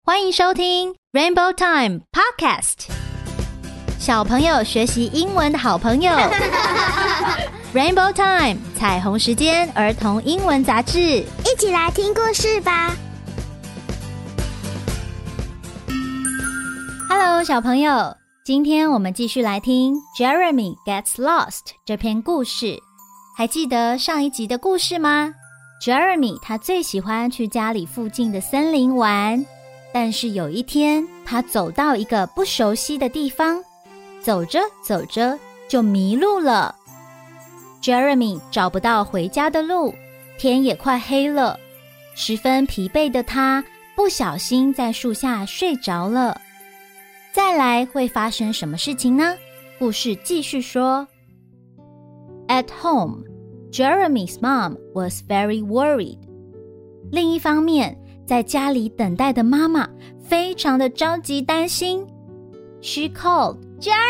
歡迎收聽 Rainbow Time Podcast， 小朋友學習英文的好朋友。Rainbow Time 彩虹時間兒童英文雜誌， 一起來聽故事吧。 Hello， 小朋友，今天我們繼續來聽 Jeremy Gets Lost 這篇故事。還記得上一集的故事嗎？ Jeremy 他最喜歡去家裡附近的森林玩，但是有一天他走到一個不熟悉的地方，走着走着就迷路了。Jeremy 找不到回家的路，天也快黑了，十分疲憊的他不小心在樹下睡着了。再來會發生什麼事情呢？故事繼續說。At home, Jeremy's mom was very worried. 另一方面，在家裡等待的媽媽非常的着急擔心。She called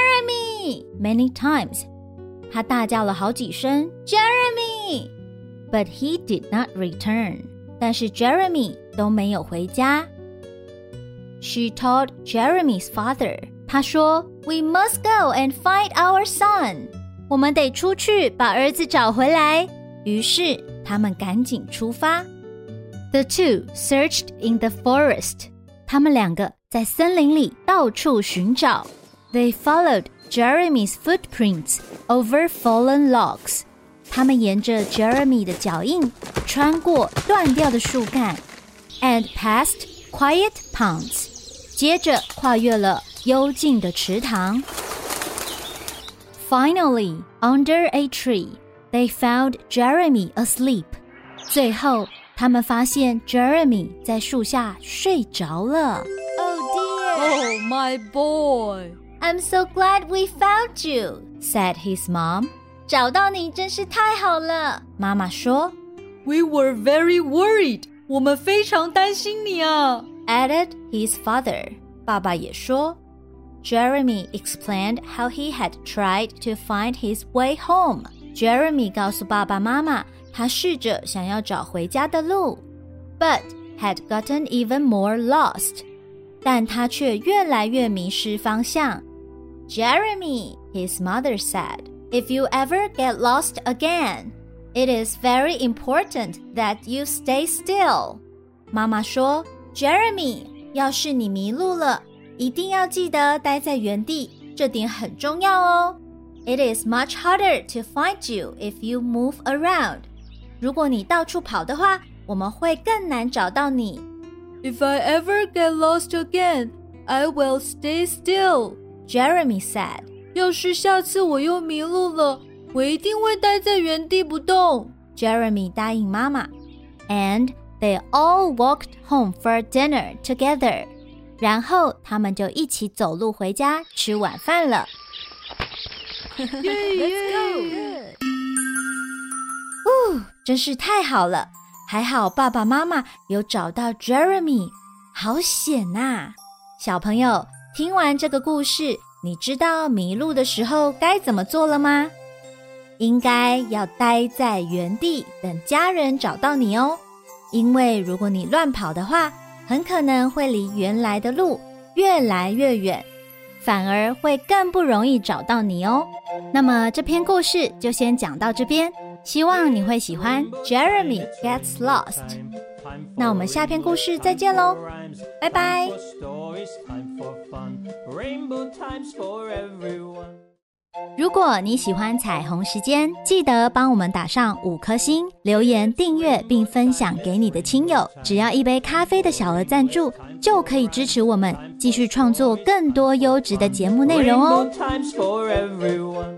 Jeremy many times. 她大叫了好幾聲 Jeremy, but he did not return. 但是 Jeremy 都沒有回家。She told Jeremy's father. 她說 We must go and find our son. 我們得出去把兒子找回來。於是他們趕緊出發。The two searched in the forest. 他們兩個在森林裡到處尋找。They followed Jeremy's footprints over fallen logs. 他們沿着 Jeremy 的腳印穿過斷掉的樹幹 and past quiet ponds. 接着跨越了幽靜的池塘。Finally, under a tree, they found Jeremy asleep. 最後他們發現 Jeremy 在樹下睡着了。Oh dear! Oh, my boy! I'm so glad we found you, said his mom. 找到你真是太好了，媽媽說。 We were very worried. 我們非常擔心你啊， added his father. 爸爸也說。Jeremy explained how he had tried to find his way home. Jeremy 告訴爸爸媽媽，他試着想要找回家的路 but had gotten even more lost. 但他卻越來越迷失方向。Jeremy, his mother said, if you ever get lost again, it is very important that you stay still. 媽媽說 Jeremy, 要是你迷路了，一定要記得待在原地，這點很重要哦。It is much harder to find you if you move around. 如果你到處跑的話，我們會更難找到你。 If I ever get lost again, I will stay still, Jeremy said. 要是下次我又迷路了，我一定會待在原地不動。 Jeremy 答應媽媽。And they all walked home for dinner together. 然後他們就一起走路回家吃晚飯了。 Let's go! 真是太好了，還好爸爸媽媽有找到 Jeremy， 好險啊！小朋友，聽完這個故事，你知道迷路的時候該怎麼做了嗎？應該要待在原地等家人找到你哦，因為如果你亂跑的話，很可能會離原來的路越來越遠，反而會更不容易找到你哦。那麼這篇故事就先講到這邊，希望你會喜歡 Jeremy Gets Lost。那我們下篇故事再見咯，拜拜。如果你喜歡彩虹時間，記得幫我們打上5顆星，留言訂閱並分享給你的親友。只要一杯咖啡的小額贊助，就可以支持我們繼續創作更多優質的節目內容哦。